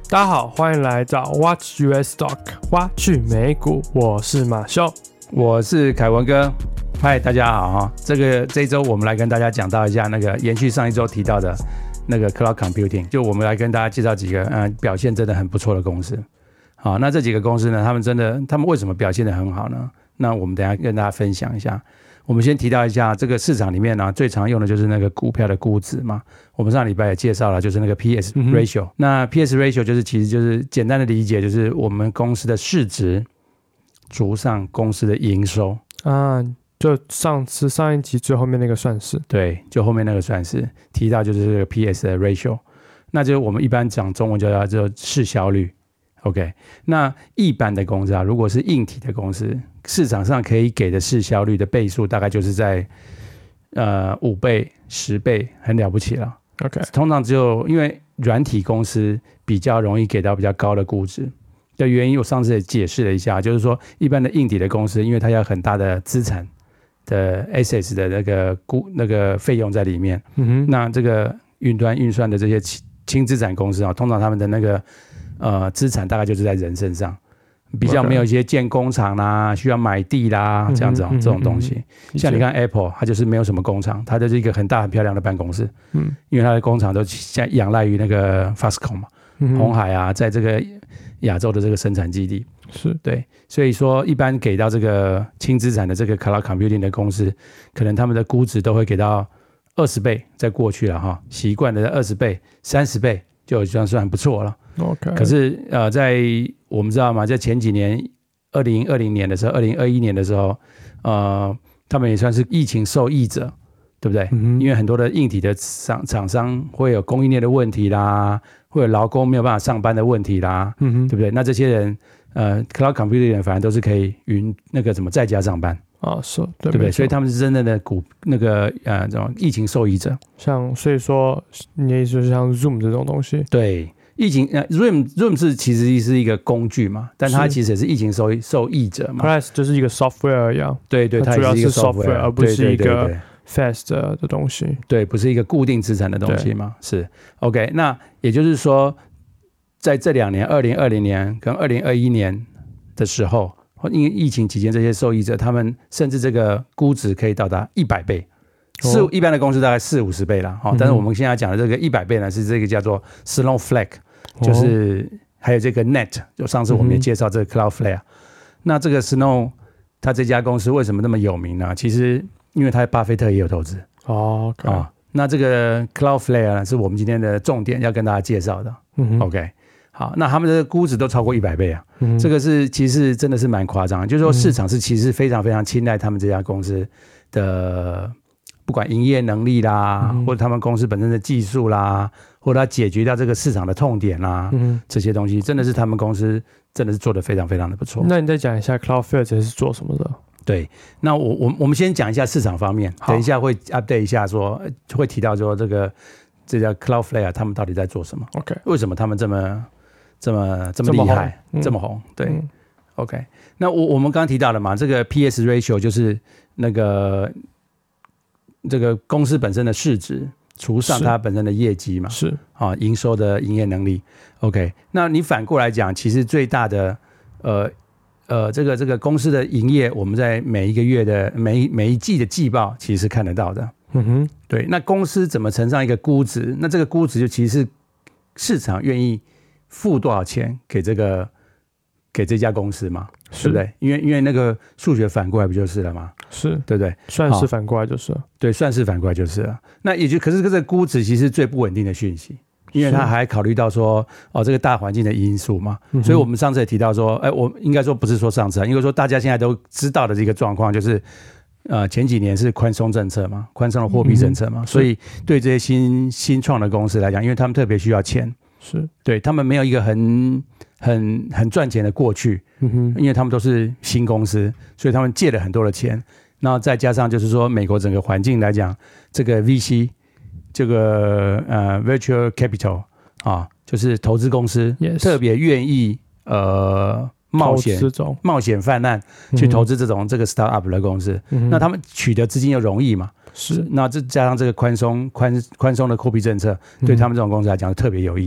大家好，歡迎來找 Watch US Stock 挖去美股，我是馬修， 我是凱文哥。嗨，大家好哈！這一周我們來跟大家講到一下那個延續上一周提到的那個 Cloud Computing， 就我們來跟大家介紹幾個表現真的很不錯的公司。好，那這幾個公司呢，他們為什麼表現得很好呢？那我們等一下跟大家分享一下。我們先提到一下這個市場裡面呢，最常用的就是那個股票的估值嘛。我們上禮拜也介紹了，就是那個 PS ratio。那 PS ratio 其實就是簡單的理解，就是我們公司的市值除上公司的營收啊。就上一集最後面那個算式， 對，就後面那個算式提到就是這個 PS 的 ratio， 那就是我們一般講中文叫做市銷率。OK， 那一般的公司啊，如果是硬體的公司，市場上可以給的市銷率的倍數大概就是在5倍、10倍，很了不起了。 OK， 通常只有因為軟體公司比較容易給到比較高的估值的原因，我上次也解釋了一下，就是說一般的硬體的公司，因為它要很大的資產的 assets 的那個費用在裡面，那這個雲端運算的這些輕資產公司啊，通常他們的那個資產大概就是在人身上，比較沒有一些建工廠啦，需要買地啦，這樣子這種東西。像你看 Apple， 它就是沒有什麼工廠，它就是一個很大很漂亮的辦公室，因為它的工廠都仰賴於那個 Foxconn 嘛，鴻海啊，在這個亞洲的這個生產基地。 是對，所以說一般給到這個輕資產的這個 Cloud Computing 的公司，可能他們的估值都會給到20倍，在過去了哈，習慣的20倍、30倍就算不錯了。 OK， 可是在我們知道嘛，在前幾年2020年的時候，2021年的時候，他們也算是疫情受益者，對不對？因為很多的硬體的廠商會有供應鏈的問題啦，會有勞工沒有辦法上班的問題啦，對不對？那這些人Cloud Computing 人反而都是可以在家上班啊，是， 对不对？所以他們是真正的这種疫情受益者。 所以說你的意思就是像 Zoom 這種東西， 对。疫情Zoom 其實是一個工具嘛，但它其實也是疫情受益者嘛。 Plus 就是一個 software 一樣， 對，它主要是 software， 而不是一個 fast 的東西。 對，不是一個固定資產的東西嘛。是 OK， 那也就是說，在這2年，2020年跟2021年的時候，因為疫情期間，這些受益者他們甚至這個估值可以到達100倍。一般的公司大概40-50倍啦，但是我們現在講的這個100倍呢，是這個叫做 Snowflake， 就是還有這個 Net， 就上次我們也介紹這個 Cloudflare。那這個 Snow， 它這家公司為什麼那麼有名呢？其實因為它巴菲特也有投資。 OK， 那這個 Cloudflare 呢，是我們今天的重點要跟大家介紹的。OK， 好，那他們的估值都超過100倍啊，這個其實真的是蠻誇張的，就是說市場是其實非常非常青睞他們這家公司的。不管營業能力啦，或者他們公司本身的技術啦，或者他解決掉這個市場的痛點啦，這些東西真的是他們公司真的是做得非常非常的不錯。 那你再講一下 Cloudflare 是做什麼的？ 對，那我們先講一下市場方面，等一下會 update 一下說，會提到說這叫 Cloudflare 他們到底在做什麼 ？OK， 為什麼他們這麼厲害，這麼紅？對 ，OK， 那我們剛剛提到了嘛，這個 PS ratio 就是那個。這個公司本身的市值除上它本身的業績嘛， 是啊，營收的營業能力。OK， 那你反過來講，其實最大的這個公司的營業，我們在每一個月的每一季的季報其實是看得到的。對。那公司怎麼乘上一個估值？那這個估值就其實是市場願意付多少錢給這家公司嘛，對不對？因為那個數學反過來不就是了嗎？是，對不對？ 算式反過來就是了。 對，算式反過來就是了。那可是這個估值其實是最不穩定的訊息，因為它還考慮到說這個大環境的因素嘛。所以我們上次也提到說，我應該說不是說上次，應該說大家現在都知道的這個狀況就是，前幾年是寬鬆政策嘛，寬鬆的貨幣政策嘛，所以對這些新創的公司來講，因為他們特別需要錢，是對他們沒有一個很賺錢的過去，因為他們都是新公司，所以他們借了很多的錢，然後再加上就是說美國整個環境來講，這個 VC 這個Venture Capital 啊，就是投資公司特別願意冒險犯難去投資這個 startup 的公司，那他們取得資金又容易嘛，是，那這加上這個寬鬆的貨幣政策，對他們這種公司來講特別有益。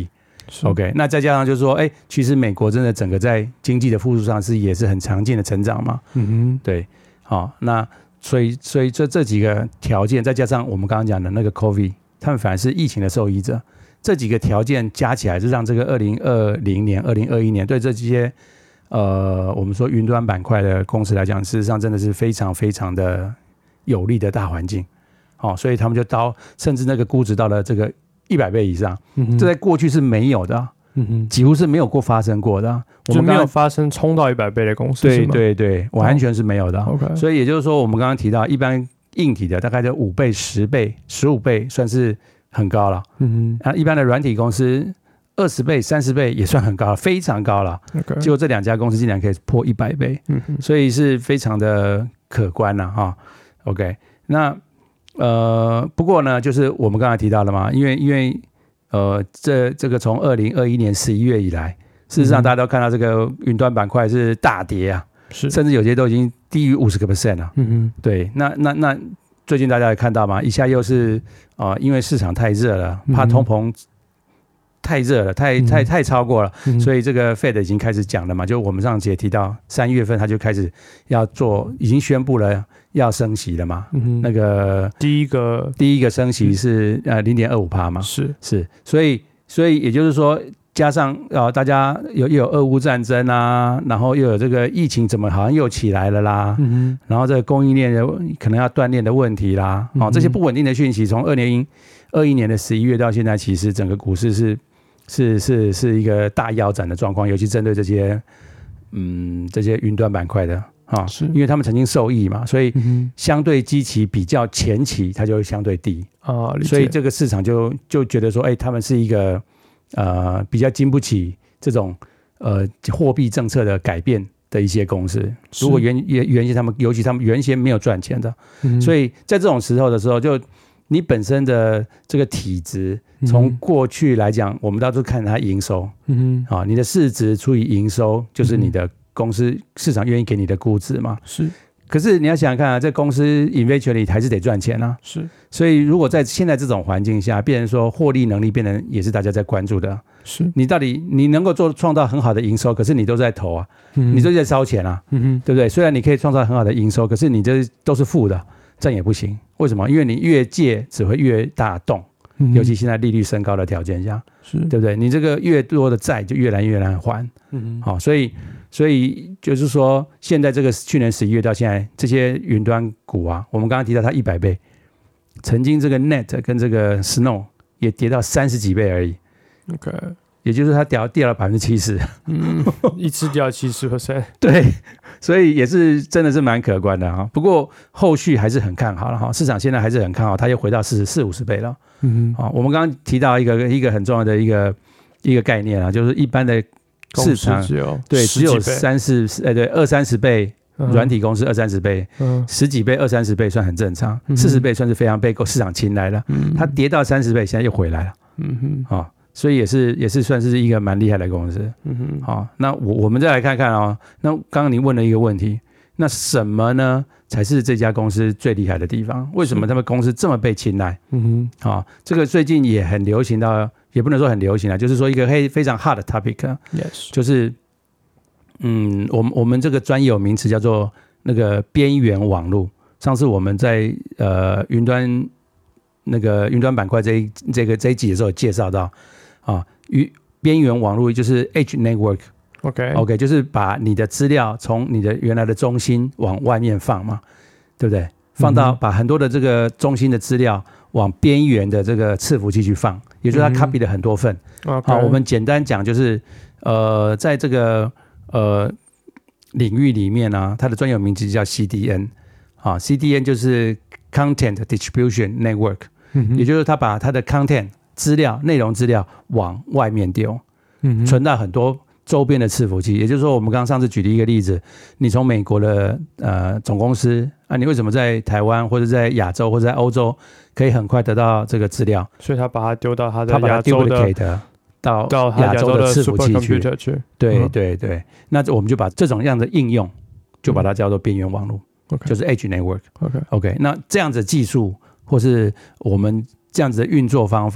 OK， 那再加上就是說，其實美國真的整個在經濟的復甦上也是很強勁的成長嘛。對，好，那所以這幾個條件，再加上我們剛剛講的那個 COVID， 他們反而是疫情的受益者。這幾個條件加起來，是讓這個2020年、2021年對這些我們說雲端板塊的公司來講，事實上真的是非常非常的有利的大環境。所以他們就甚至那個估值到了這個100倍以上，這在過去是沒有的，幾乎是沒有過發生過的。我們就沒有發生衝到100倍的公司， 對，完全是沒有的。所以也就是說，我们剛剛提到，一般硬體的大概就5倍、10倍、15倍，算是很高了。一般的軟體公司20倍、30倍也算很高了，非常高了。結果這兩家公司竟然可以破100倍，所以是非常的可觀了哈。OK， 那不過呢，就是我們剛才提到了嘛，因為這個從2021年11月以來，事實上大家都看到這個雲端板塊是大跌啊，甚至有些都已經低於50% 了。對，那最近大家也看到嘛，一下又是因為市場太熱了，怕通膨太熱了，太超過了，所以這個 Fed 已經開始講了嘛，就我們上次也提到3月份他就開始要做，已經宣布了要升息了嘛。那個第一個升息是0.25% 嘛，是，所以也就是說，加上大家又有俄烏戰爭啊，然後又有這個疫情怎麼好像又起來了啦，然後這個供應鏈可能要斷鏈的問題啦，這些不穩定的訊息，從2021年的11月到現在，其實整個股市是一個大腰斬的狀況，尤其針對這些雲端板塊的因為他們曾經受益嘛，所以相對基期比較前期它就會相對低所以這個市場就覺得說，他們是一個比較經不起這種貨幣政策的改變的一些公司。如果原先尤其他們原先沒有賺錢的，所以在這種時候的时候，就你本身的這個體質，從過去來講，我們到處看它營收，你的市值除以營收，就是你的公司市場願意給你的估值嘛。可是你要想想看啊，這公司 eventually 還是得賺錢啊。所以如果在現在這種環境下，變成說獲利能力變成也是大家在關注的。你到底你能夠創造很好的營收，可是你都在投啊，你都在燒錢啊，對不對？雖然你可以創造很好的營收，可是你這都是負的。這樣也不行，為什麼？因為你越借只會越大洞，尤其現在利率升高的條件下，對不對？你這個越多的債就越來越難還，所以就是說，現在這個去年11月到現在，這些雲端股啊，我們剛剛提到它100倍，曾經這個 Net 跟這個 Snow 也跌到30幾倍而已。也就是它跌了70%， 一次掉70%， 對，所以也是真的是蠻可觀的哈。不過後續還是很看好了哈，市場現在還是很看好，它又回到40-50倍了。我們剛剛提到一個很重要的一個概念啊，就是一般的市場只有20-30倍，軟體公司20-30倍，10幾倍20-30倍算很正常，40倍算是非常被市場青睞了。它跌到30倍，現在又回來了。所以也是算是一個蠻厲害的公司。那我們再來看看那剛剛您問了一個問題，那什麼呢才是這家公司最厲害的地方？為什麼他們公司這麼被青睞？這個最近也很流行到，也不能說很流行就是說一個非常 hot 的 topic，就是我們這個專有名詞叫做那個邊緣網絡。上次我們在雲端板塊這一集的時候有介紹到。邊緣網絡就是 Edge Network，OK， 就是把你的資料從你的原來的中心往外面放嘛，對不對？放到把很多的這個中心的資料往邊緣的這個伺服器去放，也就是它 copy 了很多份。我們簡單講就是在這個領域裡面呢，它的專有名詞叫 CDN，CDN 就是 Content Distribution Network，也就是它把它的 content內容資料往外面丟，存到很多周邊的伺服器。也就是說，我們剛剛上次舉的一個例子，你從美國的總公司你為什麼在台灣或者在亞洲或者在歐洲可以很快得到這個資料？ 所以他把它丟到他的亞洲的到亞洲的伺服器去。對，那我們就把這種樣的應用就把它叫做邊緣網絡，就是 Edge Network。OK， 那這樣子的技術或是我們這樣子的運作方法，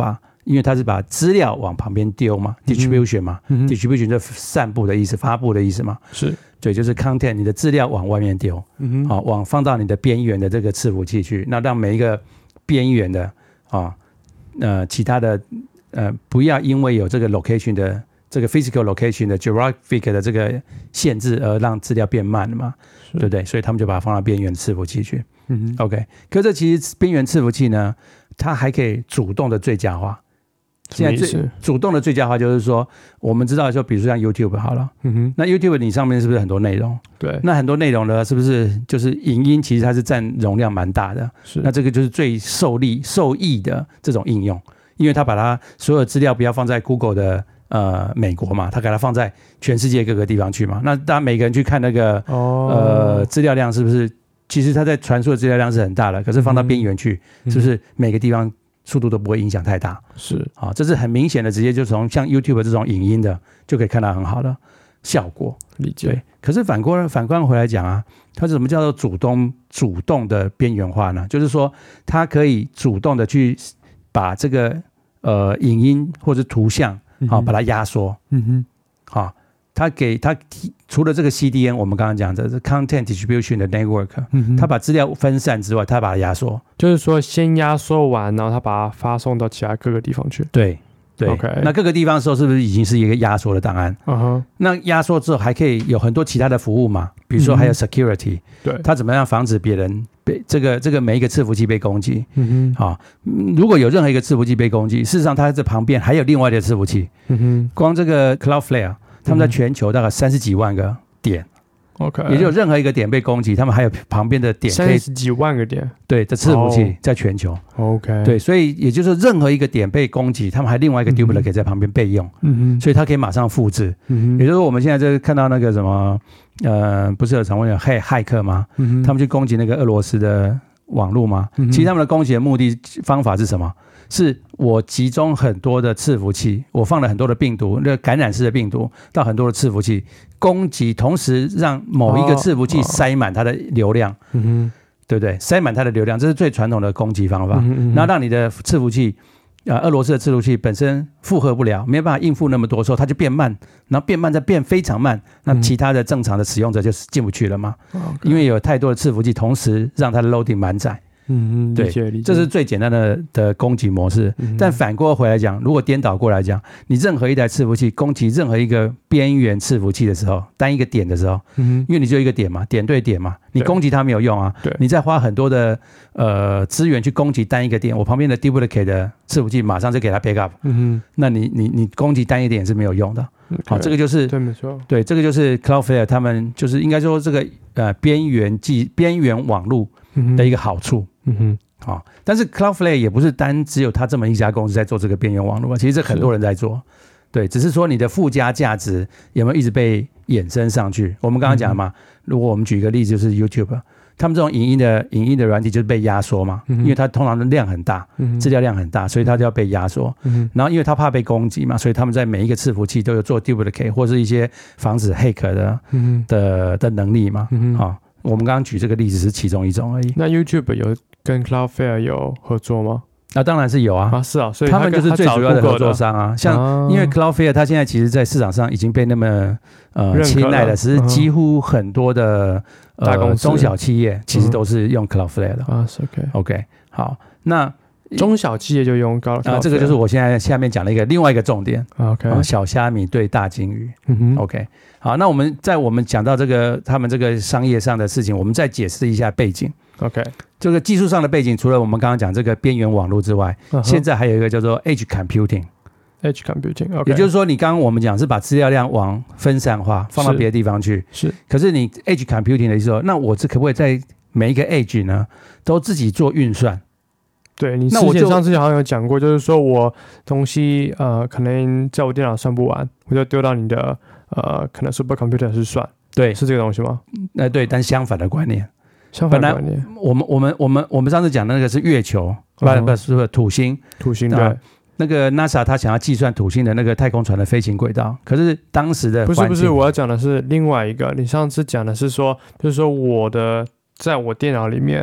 因為它是把資料往旁邊丟嘛，distribution 嘛，distribution 就散布的意思，發布的意思嘛， 是對，就是 content， 你的資料往外面丟，好，往放到你的邊緣的這個伺服器去，那讓每一個邊緣的其他的不要因為有這個 location 的這個 physical location 的 geographic 的這個限制而讓資料變慢了嘛，對不對？所以他們就把它放到邊緣伺服器去。OK， 可是這其實邊緣伺服器呢，它還可以主動的最佳化。現在主動的最佳化就是說，我們知道說，比如說像 YouTube 好了，那 YouTube 你上面是不是很多內容？对，那很多內容呢，是不是就是影音？其實它是佔容量蠻大的。是，那這個就是最受益的這種應用，因為它把它所有資料不要放在 Google 的美國嘛，它給它放在全世界各個地方去嘛。那當然每個人去看那個資料量是不是？其實它在傳輸的資料量是很大的，可是放到邊緣去，是不是每個地方速度都不會影響太大？是啊，這是很明顯的，直接就從像 YouTube 這種影音的就可以看到很好的效果。理解。對，可是反觀回來講啊，它是什麼叫做主動的邊緣化呢？就是說它可以主動的去把這個影音或者圖像把它壓縮。好。它除了這個 CDN， 我們剛剛講的 Content Distribution 的 Network， 它把資料分散之外，它把它壓縮，就是說先壓縮完，然後它把它發送到其他各個地方去。對對 ，OK。那各個地方的時候，是不是已經是一個壓縮的檔案？那壓縮之後還可以有很多其他的服務嘛？比如說還有 Security，对，它怎麼樣防止別人被這個每一個伺服器被攻擊？如果有任何一個伺服器被攻擊，事實上它在旁邊還有另外的伺服器。光這個 Cloudflare。他們在全球大概30幾萬個點 ，OK， 也就有任何一個點被攻擊，他們還有旁邊的點可以30幾萬個點，對，這伺服器在全球 ，OK， 對，所以也就是說任何一個點被攻擊，他們還另外一個 duplicate 在旁邊備用，所以它可以馬上複製，也就是說我們現在在看到那個什麼，不是有常問有駭客嗎？他們去攻擊那個俄羅斯的網絡嗎？其實他們的攻擊的目的方法是什麼？是我集中很多的伺服器，我放了很多的病毒，那個感染式的病毒到很多的伺服器攻擊，同時讓某一個伺服器塞滿它的流量，對不對？塞滿它的流量，這是最傳統的攻擊方法。然後讓你的伺服器，俄羅斯的伺服器本身負荷不了，沒有辦法應付那麼多的時候，它就變慢，然後變慢再變非常慢，那其他的正常的使用者就進不去了嘛。因為有太多的伺服器同時讓它的 loading 滿載。對，這是最簡單的攻擊模式。但反過回來講，如果顛倒過來講，你任何一台伺服器攻擊任何一個邊緣伺服器的時候，單一個點的時候，因為你只有一個點嘛，點對點嘛，你攻擊它沒有用啊。你再花很多的資源去攻擊單一個點，我旁邊的 duplicate 的伺服器馬上就給它 backup。那你攻擊單一點是沒有用的。好，這個就是對，沒錯，對，這個就是 Cloudflare 他們就是應該說這個邊緣網絡的一個好處。好，但是 Cloudflare 也不是只有他這麼一家公司在做這個邊緣網絡，其實這很多人在做，對，只是說你的附加價值有沒有一直被衍生上去？我們剛剛講嘛，如果我們舉一個例子，就是 YouTube， 他們這種影音的軟體就是被壓縮嘛，因為它通常的量很大，資料量很大，所以它就要被壓縮。然後因為它怕被攻擊嘛，所以他們在每一個伺服器都有做 duplicate 或是一些防止駭客的能力嘛。好，我們剛剛舉這個例子是其中一種而已。那 YouTube 有跟 Cloudflare 有合作嗎？當然是有啊。是啊，所以他們就是最主要的合作商啊。像因為 Cloudflare 它現在其實在市場上已經被那麼青睞了，只是幾乎很多的中小企業其實都是用 Cloudflare 的啊。OK， 好，那中小企業就用 Cloudflare，這個就是我現在下面講的另外一個重點。OK， 小蝦米對大鯨魚。OK， 好，那我們講到這個他們這個商業上的事情，我們再解釋一下背景。OK， 這個技術上的背景，除了我們剛剛講這個邊緣網絡之外，現在還有一個叫做 Edge Computing。Edge Computing， 也就是說，你剛剛我們講是把資料量往分散化，放到別的地方去。是。可是你 Edge Computing 的意思說，那我這可不可以在每一個 Edge 呢，都自己做運算？對，你之前上次好像有講過，就是說我東西可能在我電腦算不完，我就丟到你的可能 Supercomputer 去算。对，是這個東西嗎？對，但相反的觀念。本來我們上次講的那個是月球，不是土星，對，那個 NASA 他想要計算土星的那個太空船的飛行軌道，可是當時的不是，我要講的是另外一個。你上次講的是說，就是說在我電腦裡面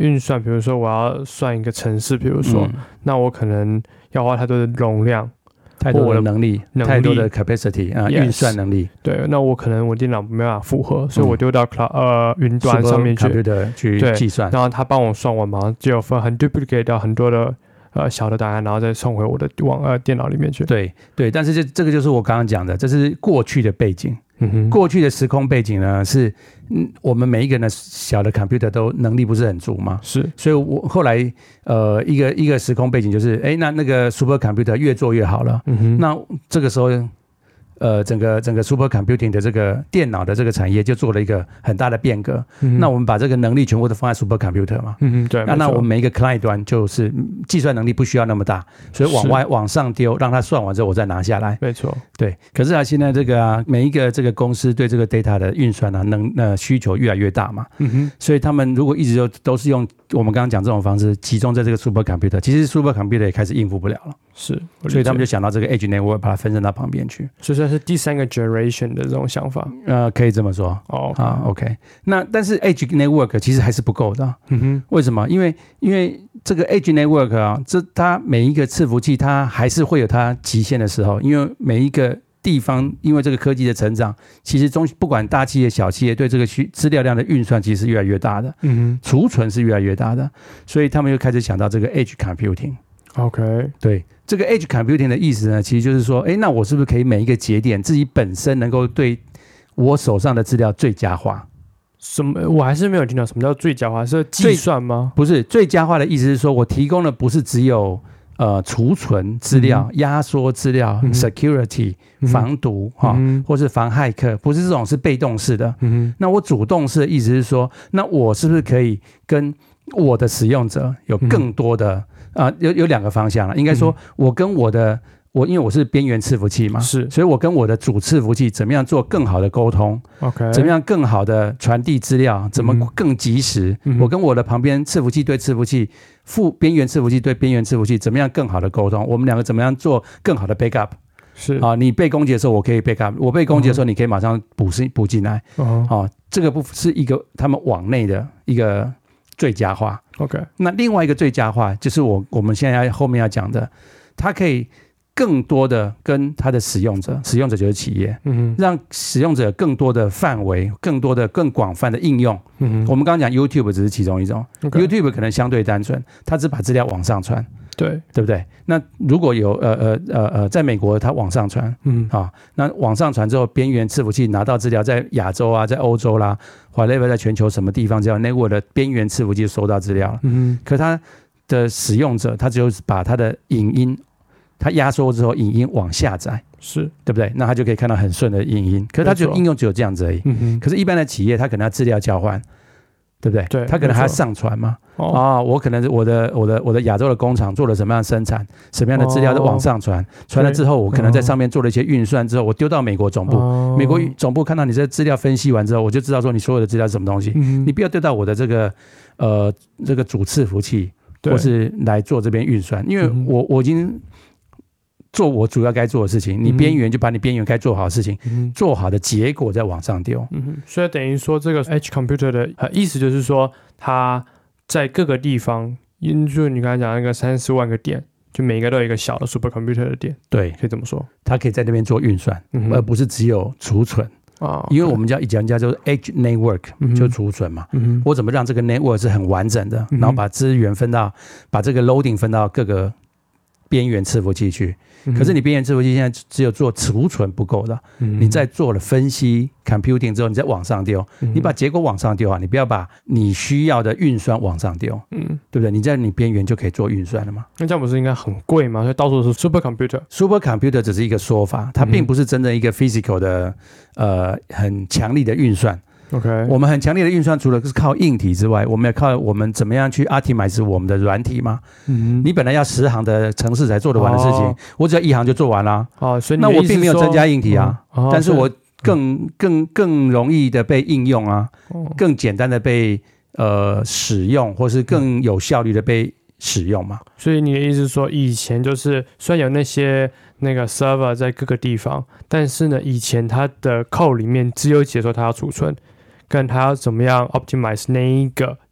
運算，比如說我要算一個程式，比如說，那我可能要花太多的容量， 太多的能力，太多的 capacity 啊，運算能力。 对，那我可能我電腦沒辦法負荷，所以我丟到雲端上面去 computer 去計算， 然後他幫我算完嘛，就很 duplicate 到很多的小的答案，然後再送回我的電腦裡面去。 对对，但是這個就是我剛剛講的，這是過去的背景。過去的時空背景呢，是我們每一個人的小的 computer 都能力不是很足嘛， 是， 所以我後來一個時空背景就是那個 super computer 越做越好了，那這個時候整個 super computing 的這個電腦的這個產業就做了一個很大的變革。那我們把這個能力全部都放在 super computer 嘛， 對， 那我們每一個 client 端就是計算能力不需要那麼大，所以往上丟，讓它算完之後我再拿下來。 沒錯， 對。可是現在這個每一個這個公司對這個 data 的運算需求越來越大嘛，所以他們如果一直都是用我們剛剛講這種方式集中在這個 super computer， 其實 super computer 也開始應付不了了， 是， 所以他們就想到這個 edge network 把它分散到旁邊去， 所以是第三個 generation 的這種想法， 可以這麼說。OK。那但是 edge network 其實還是不夠的。為什麼？因為這個 edge network 啊，它每一個伺服器它還是會有它極限的時候，因為每一個地方因為這個科技的成長，其實不管大企業小企業對這個資料量的運算其實是越來越大的，儲存是越來越大的，所以他們就開始想到這個 edge computing。OK， 對，這個 edge computing 的意思呢，其實就是說，那我是不是可以每一個節點自己本身能夠對我手上的資料最佳化？ 什麼？我還是沒有聽到什麼叫最佳化，是計算嗎？ 不是，最佳化的意思是說我提供的不是只有儲存資料、壓縮資料、security 防毒或是防駭客，不是這種是被動式的。那我主動式的意思是說，那我是不是可以跟我的使用者有更多的有兩個方向了，應該說我跟因為我是邊緣伺服器嘛，是，所以我跟我的主伺服器怎麼樣做更好的溝通，OK， 怎麼樣更好的傳遞資料，怎麼更及時，我跟我的旁邊伺服器對伺服器，邊緣伺服器對邊緣伺服器怎麼樣更好的溝通，我們兩個怎麼樣做更好的 backup， 是啊，你被攻擊的時候我可以 backup， 我被攻擊的時候你可以馬上補進來，這個部分是一個他們網內的一個最佳化。OK， 那另外一個最佳化就是我們現在後面要講的，它可以更多的跟它的使用者就是企業，讓使用者有更多的範圍，更多的更廣泛的應用。我們剛剛講 YouTube 只是其中一種，YouTube 可能相對單純，它只把資料往上傳，對不對？那如果有在美國它往上傳，那往上傳之後，邊緣伺服器拿到資料，在亞洲啊，在歐洲啦，whatever，在全球什麼地方，只要 network 的邊緣伺服器收到資料了，可它的使用者，他只有把他的影音，他壓縮之後，影音往下載，是對不對？那他就可以看到很順的影音。可是他就應用只有這樣子而已。可是，一般的企業，他可能要資料交換，對不對？對，他可能還要上傳嘛。我可能我的亞洲的工廠做了什麼樣的生產，什麼樣的資料都往上傳，傳了之後，我可能在上面做了一些運算之後，我丟到美國總部，美國總部看到你這資料分析完之後，我就知道說你所有的資料是什麼東西。你不要丟到我的這個主伺服器，或是來做這邊運算，因為我已經做我主要該做的事情，你邊緣就把你邊緣該做好的事情做好的結果再往上丟。 所以等於說這個 edge computer 的意思就是說，它在各個地方，就你剛才講那個30萬個點，就每一個都有一個小的 super computer 的點，對，可以這麼說， 它可以在那邊做運算，而不是只有儲存。因為我們叫 edge network 就儲存嘛，我怎麼讓這個 network 是很完整的，然後把資源把這個 loading 分到各個邊緣伺服器去。可是你邊緣伺服器現在只有做儲存不夠的，你在做了分析 computing 之後，你再往上丟，你把結果往上丟啊，你不要把你需要的運算往上丟，對不對？你在你邊緣就可以做運算了嘛。那這樣不是應該很貴嗎？所以到處是 super computer 只是一個說法，它並不是真的一個 physical 的很強力的運算。Okay. 我們很強烈的運算，除了是靠硬體之外，我們也靠我們怎麼樣去 optimize 我們的軟體嘛。你本來要10行的程式才做得完的事情，我只要1行就做完了。所以那我並沒有增加硬體啊，但是我更容易的被應用啊，更簡單的被使用，或是更有效率的被使用嘛。所以你的意思是說，以前就是雖然有那個 server 在各個地方，但是呢，以前它的 code 裡面只有寫說它要儲存，跟它要怎麼樣 optimize 那一個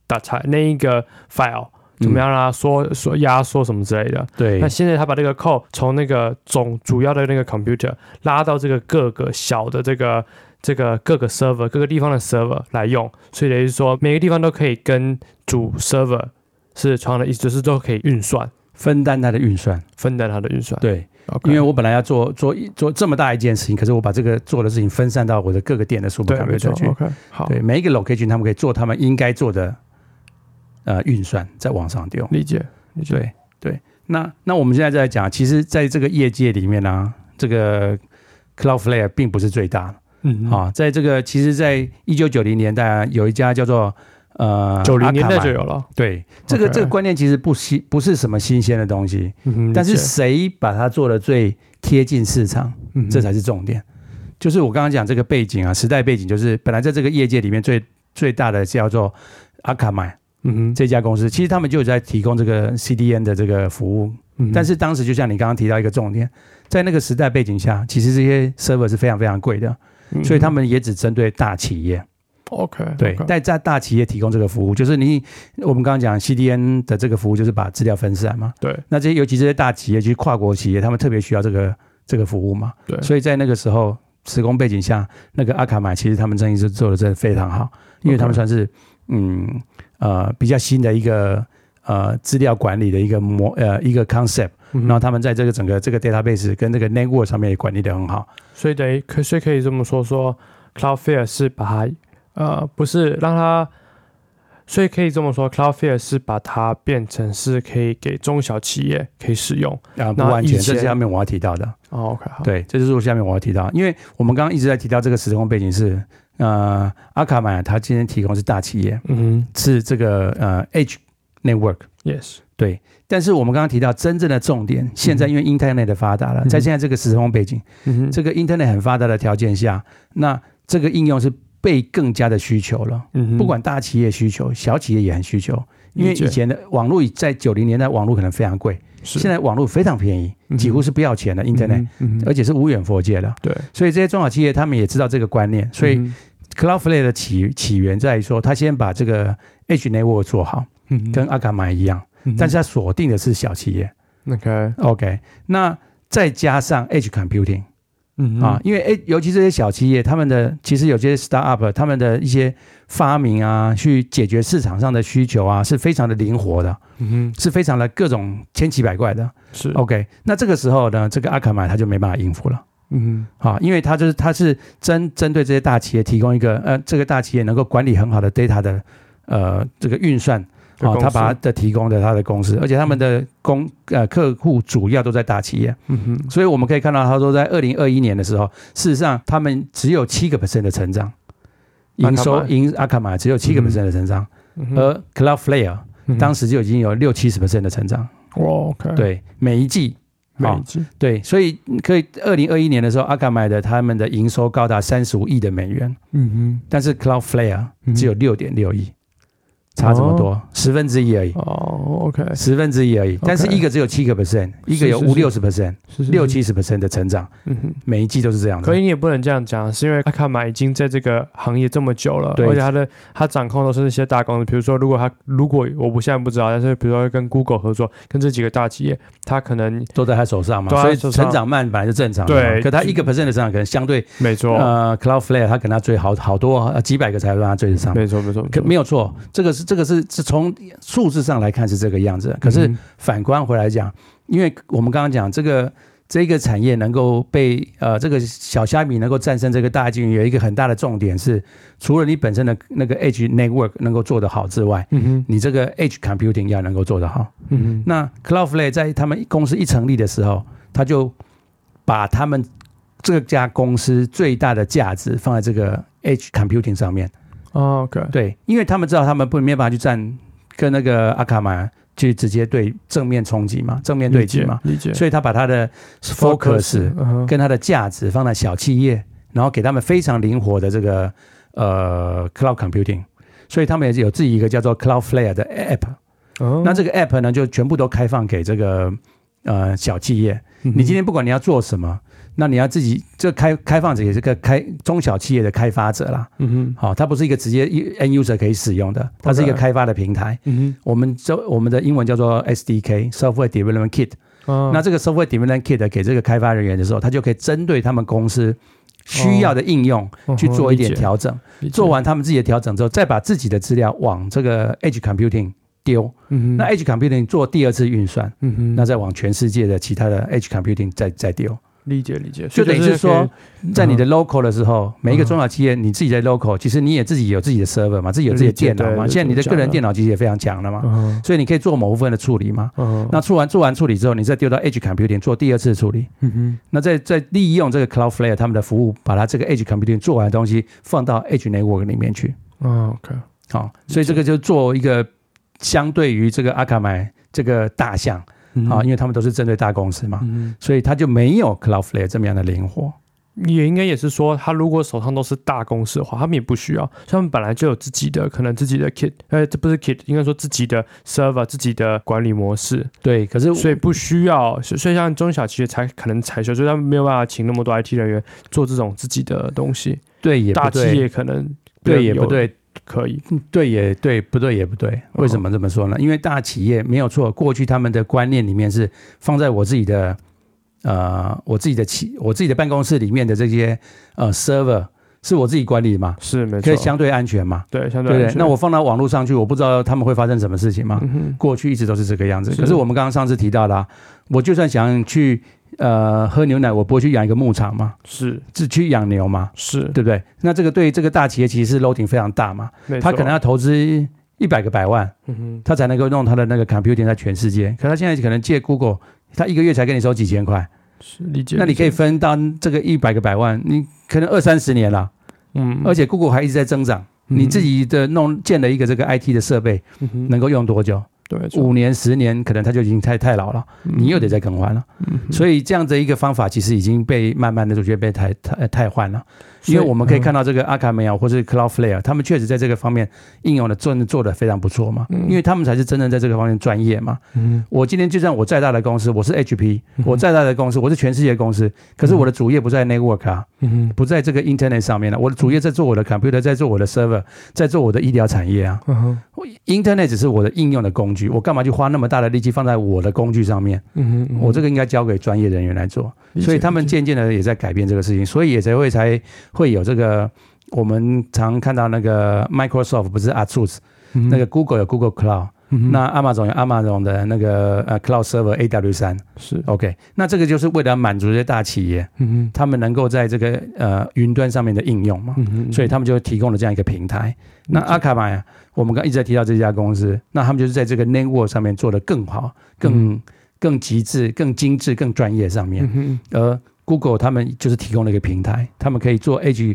那一個 file。怎麼樣讓它壓縮什麼之類的？ 對。 那現在他把這個 code 從那個主要的那個 computer 拉到這個各個小的這個各個 server 各個地方的 server 來用，所以等於說每個地方都可以跟主 server 是同樣的意思，就是都可以運算， 分擔它的運算。 對。 因為我本來要做這麼大一件事情，可是我把這個做的事情分散到我的各個店的 super computer 去。 好。 對，每一個 location 他們可以做他們應該做的。運算再往上丟， 理解。 对。那我們現在再來講，其實在這個業界裡面呢，這個 Cloudflare 並不是最大的。在這個其實，在1990年代有一家叫做 90年代就有了。 對，這個觀念其實不是什麼新鮮的東西，但是誰把它做的最貼近市場，這才是重點。就是我剛剛講這個背景啊，時代背景就是本來在這個業界裡面最大的叫做 Akamai。這家公司其實他們就有在提供這個 CDN 的這個服務，但是當時就像你剛剛提到一個重點，在那個時代背景下，其實這些 server 是非常非常貴的，所以他們也只針對大企業。對，在大企業提供這個服務，就是我們剛剛講 CDN 的這個服務，就是把資料分散嘛。對，那尤其這些大企業，就是跨國企業，他們特別需要這個服務嘛。對，所以在那個時候時空背景下，那個Akamai其實他們生意是做的真的非常好，因為他們算是比較新的一個資料管理的一個 concept，然後他們在這個整個這個 database 跟這個 network 上面也管理得很好，所以可以這麼說 Cloudflare 是把它不是讓它，所以可以這麼說 Cloudflare 是把它變成是可以給中小企業可以使用不完全，這是下面我要提到的。 OK， 好， 對，這就是下面我要提到，因為我們刚剛一直在提到這個時空背景是。Akamai 它今天提供是大企業，是這個Edge Network，yes， 對。但是我們剛剛提到真正的重點，現在因為 Internet 的發達了，在現在這個時空背景，這個 Internet 很發達的條件下，那這個應用是被更加的需求了。不管大企業需求，小企業也很需求，因為以前的網絡在90年代網絡可能非常貴，現在網絡非常便宜，幾乎是不要錢的 Internet，而且是無遠弗屆的。對，所以這些中小企業他們也知道這個觀念，所以。Cloudflare 的起源在於說，他先把這個 Edge Network 做好，跟 Akamai 一樣，但是他鎖定的是小企業。OK， 那再加上 Edge Computing，因為尤其這些小企業，他們的其實有些 startup， 他們的一些發明啊，去解決市場上的需求啊，是非常的靈活的，是非常的各種千奇百怪的。是 OK， 那這個時候呢，這個 Akamai 他就沒辦法應付了。因為它是針對這些大企業提供一個這個大企業能夠管理很好的 data 的這個運算，他把它的提供的他的公司，而且他們的客戶主要都在大企業，所以我們可以看到，他說在2021年的時候，事實上他們只有7% 的成長，營收Akamai只有7% 的成長，而 Cloudflare 當時就已經有60-70% 的成長。OK， 對，每一季。對，所以可以2021年的时候，Akamai他們的營收高達35億的美元，但是 Cloudflare 只有6.6億，差這麼多，1/10而已。OK， 1/10而已。但是一個只有7%，一個有50-60%、60-70% 的成長，每一季都是這樣的。 可以，你也不能這樣講，是因為Akamai已經在這個行業這麼久了，而且他掌控都是那些大公司。比如說，如果我現在不知道，但是比如說跟 Google 合作，跟這幾個大企業，他可能都在他手上嘛，所以成長慢本來是正常的。對，可他1%的成長可能相對沒錯。 Cloudflare 他可能要追好多幾百個才讓他追得上。 沒錯， 沒有錯，這個是從數字上來看是這個樣子，可是反觀回來講，因為我們剛剛講這個產業能夠被這個小蝦米能夠戰勝這個大鯨魚，有一個很大的重點是，除了你本身的那個 Edge Network 能夠做得好之外，你這個 Edge Computing 要能夠做得好。那 Cloudflare 在他們公司一成立的時候，他就把他們這家公司最大的價值放在這個 Edge Computing 上面。OK， 對，因為他們知道他們沒辦法去跟那個Akamai去直接對正面衝擊嘛，正面對擊嘛，理解。所以他把他的 focus 跟他的價值放在小企業，然後給他們非常靈活的這個cloud computing， 所以他們也有自己一個叫做 Cloudflare 的 app。那這個 app 呢，就全部都開放給這個小企業。你今天不管你要做什麼， 那你要自己這開放者也是個中小企業的開發者啦。好，它不是一個直接 end user 可以使用的，它是一個開發的平台。我們的英文叫做 SDK Software Development Kit。那這個 Software Development Kit 給這個開發人員的時候，他就可以針對他們公司需要的應用去做一點調整。做完他們自己的調整之後，再把自己的資料往這個 Edge Computing 丟。那 Edge Computing 做第二次運算。那再往全世界的其他的 Edge Computing 再丟。理解，就等於是說，在你的 local 的時候，每一個中小企業你自己在 local，其實你也自己有自己的 server 嘛，自己有自己的電腦嘛。現在你的個人電腦其實也非常強了嘛，所以你可以做某部分的處理嘛。那做完處理之後，你再丟到 Edge Computing 做第二次處理。那再利用這個 Cloudflare 他們的服務，把它這個 Edge Computing 做完的東西放到 Edge Network 裡面去。OK， 好，所以這個就做一個相對於這個Akamai這個大象。因為他們都是針對大公司嘛，所以他就沒有 Cloudflare 這麼樣的靈活。也應該也是說，他如果手上都是大公司的話，他們也不需要，他們本來就有自己的可能自己的 kit， 這不是 kit， 應該說自己的 server， 自己的管理模式。对，可是所以不需要，所以像中小企業才可能才需要，所以他们没有办法請那麼多 IT 人員做這種自己的東西。對，也不對。大企業可能對也不對。可以，對也對，不對也不對。為什麼這麼說呢？因為大企業沒有錯，過去他們的觀念裡面是放在我自己的我自己的辦公室裡面的這些server 是我自己管理嘛，是沒錯，可以相對安全嘛，對，相對安全。那我放到網絡上去，我不知道他們會發生什麼事情嘛。過去一直都是這個樣子。可是我們剛剛上次提到的，我就算想去喝牛奶，我不會去養一個牧場嘛，是去養牛嘛，是對不對？那這個對這個大企業其實是 loading 非常大嘛，他可能要投資100個百萬，他才能夠弄他的那個 computing 在全世界。可他現在可能借 Google， 他一個月才給你收幾千塊，是理解。那你可以分擔這個100個百萬，你可能20-30年了，而且 Google 還一直在增長，你自己的建了一個這個 IT 的設備，能夠用多久？對，5年10年可能他就已經太老了，你又得再更換了。所以這樣的一個方法其實已經被慢慢的就覺得被汰換了。因為我們可以看到這個 Akamai 或是 Cloudflare， 他們確實在這個方面應用的做得非常不錯嘛，因為他們才是真正在這個方面專業嘛。我今天就算我再大的公司，我是 HP， 我再大的公司，我是全世界公司，可是我的主業不在 network 啊，不在這個 internet 上面了，我的主業在做我的 computer， 在做我的 server， 在做我的醫療產業啊。Internet 只是我的應用的工具，我幹嘛去花那麼大的力氣放在我的工具上面？我這個應該交給專業人員來做。所以他們漸漸的也在改變這個事情，所以也才會有這個我們常看到那個 Microsoft 不是 Azure， 那個 Google 有 Google Cloud，那 Amazon 有 Amazon 的那個Cloud Server AW3， 是 OK。那這個就是為了滿足這些大企業，他們能夠在這個雲端上面的應用嘛，所以他們就提供了這樣一個平台。那 Akamai 我們剛一直在提到這家公司，那他們就是在這個 network 上面做得更好、更極致、更精緻、更專業上面，而 Google 他們就是提供了一個平台，他們可以做 Edge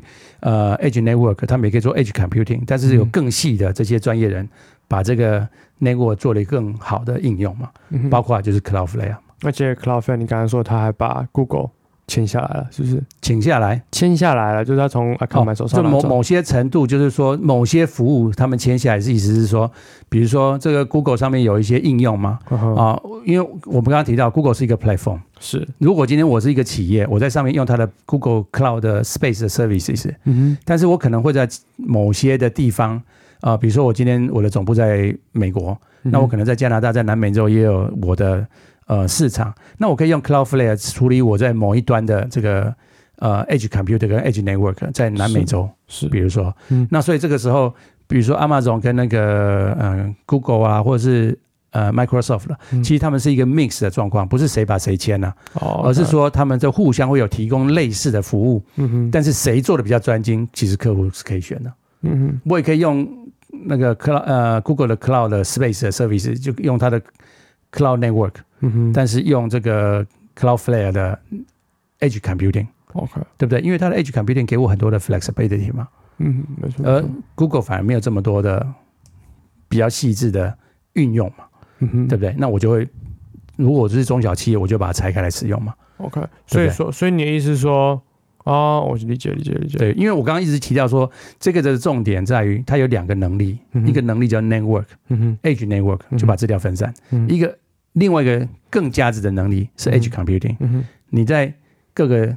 Network， 他們也可以做 Edge Computing， 但是有更細的這些專業人把這個 Network 做了一個更好的應用嘛，包括就是 Cloudflare。而且 Cloudflare 你剛才說他還把 Google 簽下來了，是不是？簽下來了，就是他從 Akamai 手上拿走。就某些程度，就是說某些服務他們簽下來，意思是說，比如說這個 Google 上面有一些應用嘛，因為我們剛剛提到 Google 是一個 platform， 是。如果今天我是一個企業，我在上面用它的 Google Cloud 的 Space 的 services，但是我可能會在某些的地方比如說我今天我的總部在美國，那我可能在加拿大、在南美洲也有我的市場，那我可以用 Cloudflare 處理我在某一端的這個Edge Computer 跟 Edge Network 在南美洲，是比如說，那所以這個時候，比如說 Amazon 跟那個Google 啊，或者是Microsoft 了，其實他們是一個 mix 的狀況，不是誰把誰簽了，而是說他們就互相會有提供類似的服務，但是誰做的比較專精，其實客戶是可以選的。我也可以用那個Google 的 Cloud 的 Space 的 Service， 就用它的 Cloud Network，但是用這個 Cloudflare 的 Edge Computing，OK， 對不對？因為它的 Edge Computing 給我很多的 flexibility 嘛，沒錯。而 Google 反而沒有這麼多的比較細緻的運用嘛，對不對？那我就會，如果我是中小企業，我就把它拆開來使用嘛。OK， 所以你的意思是說，我理解。對，因為我剛剛一直提到說，這個的重點在於它有兩個能力，一個能力叫 Network，Edge Network 就把資料分散，另外一個更價值的能力是 Edge Computing，你在各個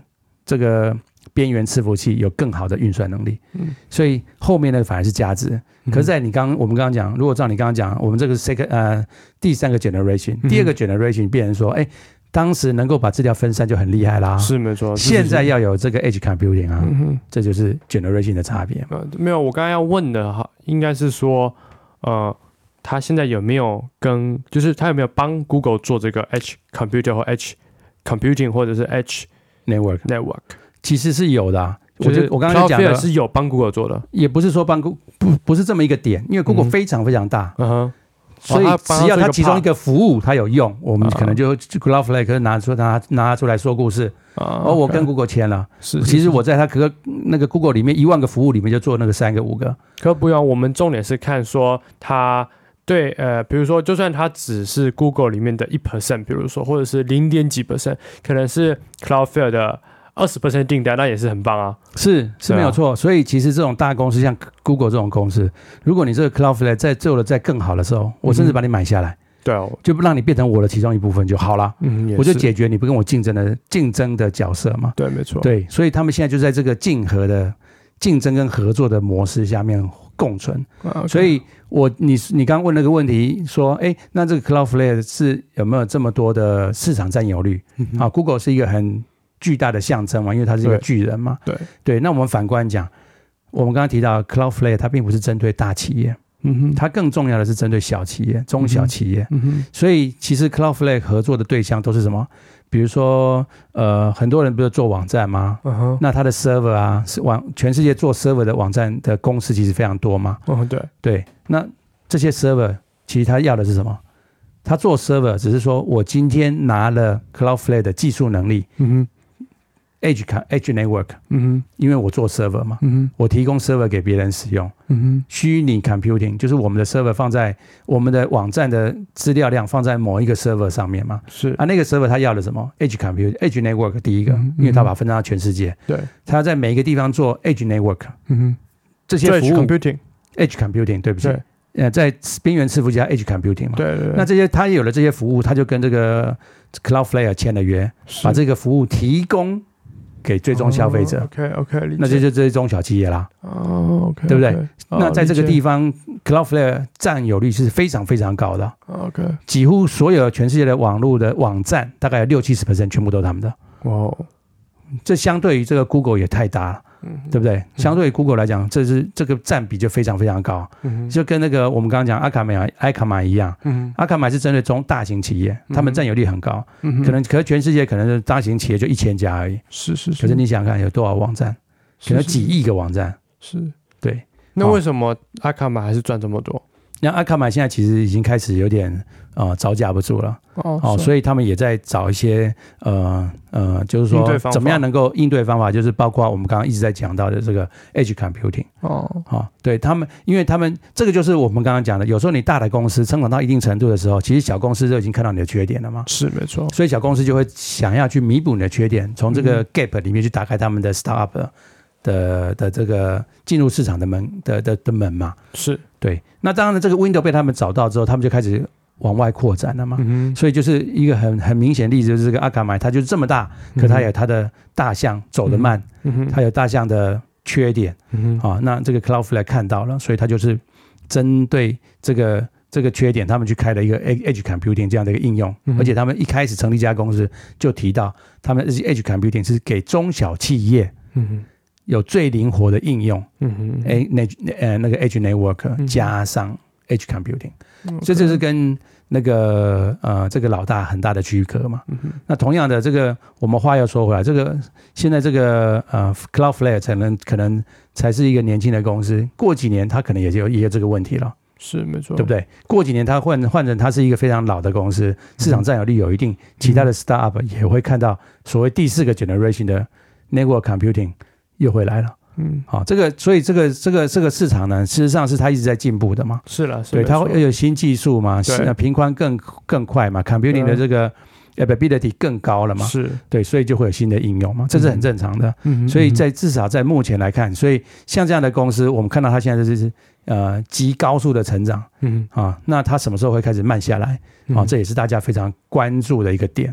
這個邊緣伺服器有更好的運算能力，所以後面呢反而是價值。可是，在我們剛剛講，如果照你剛剛講，我們這個第3個 generation，第2個 generation 變成說，哎，當時能夠把資料分散就很厲害啦， 是沒錯。 現在要有這個 edge computing 啊，這就是 generation 的差別。 沒有，我剛剛要問的哈，應該是說，他現在有沒有就是他有沒有幫 Google 做這個 edge computer 或 edge computing 或者是 edge network？ 其實是有的啊。我剛剛才講的是有幫 Google 做的， 也不是說幫 Google 不是這麼一個點，因為 Google 非常非常大，所以只要它其中一個服務它有用，我們可能就 Cloudflare 拿出來說故事。我跟 Google 簽了，其實我在它那個 Google 裡面1萬個服務裡面就做那個3個5個。 可不用，我們重點是看說它對比如說，就算它只是 Google 裡面的1%，比如說或者是0點幾%，可能是 Cloudflare 的20% 訂單，那也是很棒啊，是沒有錯。所以其實這種大公司，像 Google 這種公司，如果你這個 Cloudflare 在做的再更好的時候，我甚至把你買下来， 对哦， 就不让你变成我的其中一部分就好了。我就解決你不跟我竞爭的角色嘛。 对，没錯。 对，所以他們現在就在這個競爭跟合作的模式下面共存。所以你剛剛問那個問題說，哎，那這個 Cloudflare 是有沒有這麼多的市場佔有率？Google 是一個很巨大的象徵嘛，因為它是一個巨人嘛。對。那我們反觀講，我們剛剛提到 Cloudflare 它並不是針對大企業，它更重要的是針對小企業、中小企業。所以其實 Cloudflare 合作的對象都是什麼？比如說很多人不是做網站嗎？那它的 server 啊，是全世界做 server 的網站的公司其實非常多嘛。對。那這些 server 其實他要的是什麼？他做 server 只是說我今天拿了 Cloudflare 的技術能力。Edge network， 因為我做 server 嘛，我提供 server 給別人使用，虛擬 computing 就是我們的 server 放在我們的網站的資料量放在某一個 server 上面嘛，那個 server 他要的什麼 Edge computing，Edge network 第一個，因為他把它分散到全世界，他要在每一個地方做 Edge network，這些服務 Edge computing 對不起，在邊緣伺服器 Edge computing 嘛，那這些他有了這些服務，他就跟這個 Cloudflare 簽了約，把這個服務提供給最終消費者，OK， 那這就是中小企業啦，OK， 对不對？那在這個地方 ，Cloudflare 佔有率是非常非常高的，OK， 幾乎所有全世界的網絡的網站，大概有60-70%全部都是他們的，這相對於這個 Google 也太大了。對不對？相對於 Google 來講，這個佔比就非常非常高，就跟那個我們剛剛講阿卡瑪一樣，阿卡瑪是針對大型企業，他們佔有率很高，可是全世界可能是大型企業就1000家而已，可是你想想看有多少網站，可能幾億個網站，對。 那為什麼阿卡瑪還是賺這麼多？ 那阿卡瑪現在其實已經開始有點招架不住了，所以他們也在找一些就是說怎麼樣能夠應對方法，就是包括我們剛剛一直在講到的這個 edge computing，對他們，因為他們這個就是我們剛剛講的，有時候你大的公司成長到一定程度的時候，其實小公司就已經看到你的缺點了嘛， 是沒錯， 所以小公司就會想要去彌補你的缺點，從這個 gap 裡面去打開他們的 startup的這個進入市場的門嘛，是對。那當然，這個 window 被他們找到之後，他們就開始往外擴展了嘛。所以就是一個很明顯的例子，就是這個阿卡瑪，它就是這麼大，可它有它的大項走得慢，它有大項的缺點那這個 Cloudflare 看到了，所以它就是針對這個缺點，他們去開了一個 Edge Computing 這樣的一個應用，而且他們一開始成立這家公司就提到，他們 Edge Computing 是給中小企業。有最靈活的應用，那個 Edge Network 加上 Edge Computing，所以這是跟那個這個老大很大的區隔嘛。那同樣的，這個我們話又說回來，這個現在這個Cloudflare 可能才是一個年輕的公司，過幾年它可能也有這個問題了，是沒錯，對不對？過幾年它換成它是一個非常老的公司，市場佔有率有一定，其他的 startup 也會看到所謂第4個 generation 的 network computing。又回來了，所以這個市場呢，事實上是它一直在進步的嘛，是了，對，它會有新技術嘛，頻寬更快嘛 ，computing 的這個 ability 更高了嘛，是對，所以就會有新的應用嘛，這是很正常的，所以至少在目前來看，所以像這樣的公司，我們看到它現在就是極高速的成長，那它什麼時候會開始慢下來？這也是大家非常關注的一個點。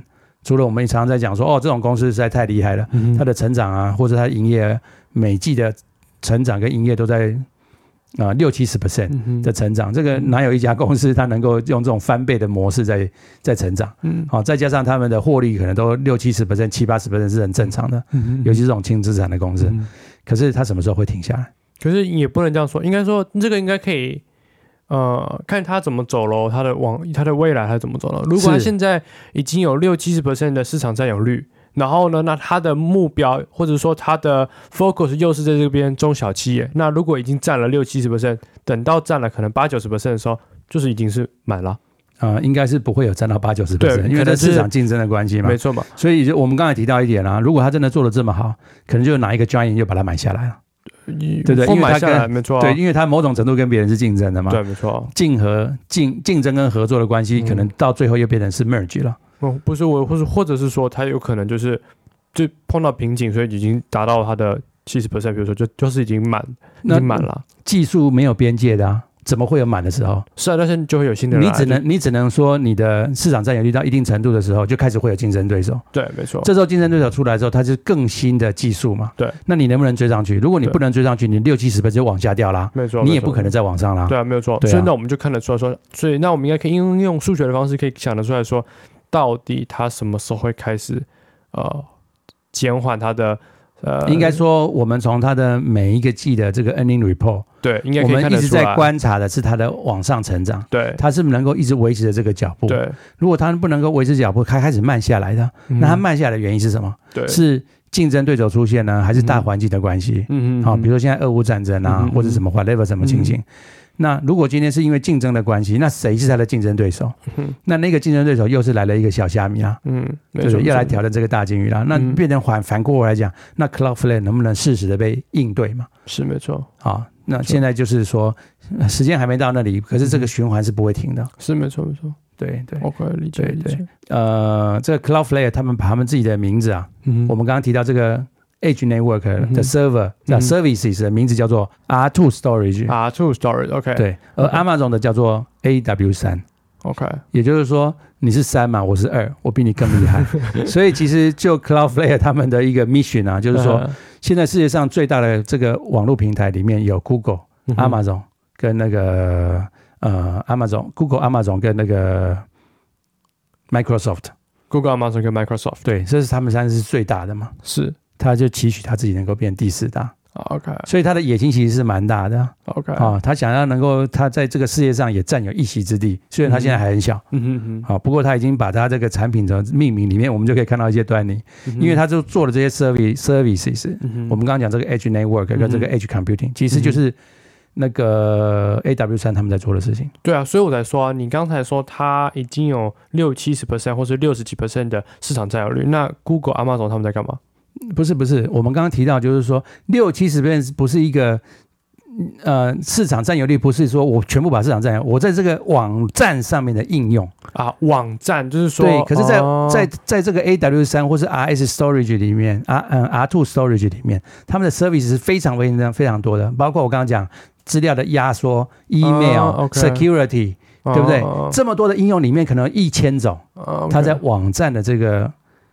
除了我們常常在講說，這種公司實在太厲害了，它的成長啊，或者它營業每季的成長跟營業都在60-70% 的成長，這個哪有一家公司它能夠用這種翻倍的模式在成長？再加上他們的獲利可能都60-70%、70-80% 是很正常的，尤其是這種輕資產的公司。可是它什麼時候會停下來？ 可是也不能這樣說，應該說這個應該可以。看他怎麼走咯，他的未來他怎麼走咯。如果他現在已經有60-70% 的市場占有率，然後呢，那他的目標或者說他的 focus 又是在這邊中小企業，那如果已經占了60-70%，等到占了可能80-90% 的時候，就是已經是滿了。 應該是不會有占到80-90%，因為這市場競爭的關係嘛， 沒錯嘛。 所以我們剛才提到一點啦，如果他真的做得這麼好，可能就拿一個 giant 就把它買下來了。對不對？因為它沒錯、啊， 對，因為它某種程度跟別人是競爭的嘛。 對，沒錯。 競爭跟合作的關係，可能到最後又變成是 merge 了。 不是我，或者是說，它有可能就碰到瓶頸，所以已經達到它的70%，比如說就是已經滿了。 技術沒有邊界的啊。怎麼會有滿的時候？ 是啊，但是就會有新的人來。 你只能說你的市場占有率到一定程度的時候，就開始會有競爭對手。 對，沒錯。 這時候競爭對手出來之後，它是更新的技術嘛？ 對。 那你能不能追上去？如果你不能追上去，你60-70%就往下掉啦。 沒錯。 你也不可能再往上啦。 對啊，沒有錯。所以那我們就看得出來說，所以那我們應該可以應用數學的方式，可以想得出來說，到底它什麼時候會開始減緩它的。 應該說，我們從它的每一個季的這個 earning report， 對，應該可以看得出來， 我們一直在觀察的是它的往上成長， 對， 它是不是能夠一直維持着這個腳步？ 對， 如果它不能夠維持腳步，它開始慢下來的，那它慢下來的原因是什麼？對，是競爭對手出現呢，還是大環境的關係？好，比如說現在俄烏戰爭啊，或者什麼 whatever 什麼情形。那如果今天是因為競爭的關係，那誰是他的競爭對手？那個競爭對手又是來了一個小蝦米啦，對，又來挑戰這個大鯨魚啦。那變成反過來講，那 Cloudflare 能不能適時的被應對嘛？ 是沒錯。 好，那現在就是說時間還沒到那裡，可是這個循環是不會停的。 是沒錯沒錯。對對 ，OK， 理解理解。 這個 Cloudflare 他們把他們自己的名字啊，我們剛剛提到這個。Edge Network 的 server services 的名字叫做 R2 Storage，R2 Storage，OK， 對，而 Amazon 的叫做 AW3，OK， 也就是說你是3嘛，我是2，我比你更厲害，所以其實就 Cloudflare 他們的一個 mission 啊，就是說現在世界上最大的這個網絡平台裡面有 Google、Amazon 跟那個Amazon、Google、Amazon 跟那個 Microsoft，Google、Amazon 跟 Microsoft， 對，這是他們3是最大的嘛，是。他就期许他自己能夠變第4大 ，OK， 所以他的野心其實是蠻大的 ，OK， 他想要能夠他在這個世界上也佔有一席之地，雖然他現在還很小，不過他已經把他這個產品的命名裡面，我們就可以看到一些端倪，因為他就做了這些 services，我們剛剛講這個 Edge Network 跟這個 Edge Computing，其實就是那個 AW3 他們在做的事情。對啊， 所以我才說，你剛才說他已經有60-70% 或是60幾% 的市場佔有率，那 Google、Amazon 他們在幹嘛？ 不是，我們剛剛提到就是說60-70% 不是一個市場占有率，不是說我全部把市場占有，我在這個網站上面的應用啊，网站就是說對，可是在這個 AW3 或是 RS Storage 裡面R2 Storage 裡面，他們的 service 是非常非常多的，包括我剛剛講資料的壓縮、email、security， 對不對？這麼多的應用裡面，可能1000種，它在網站的這個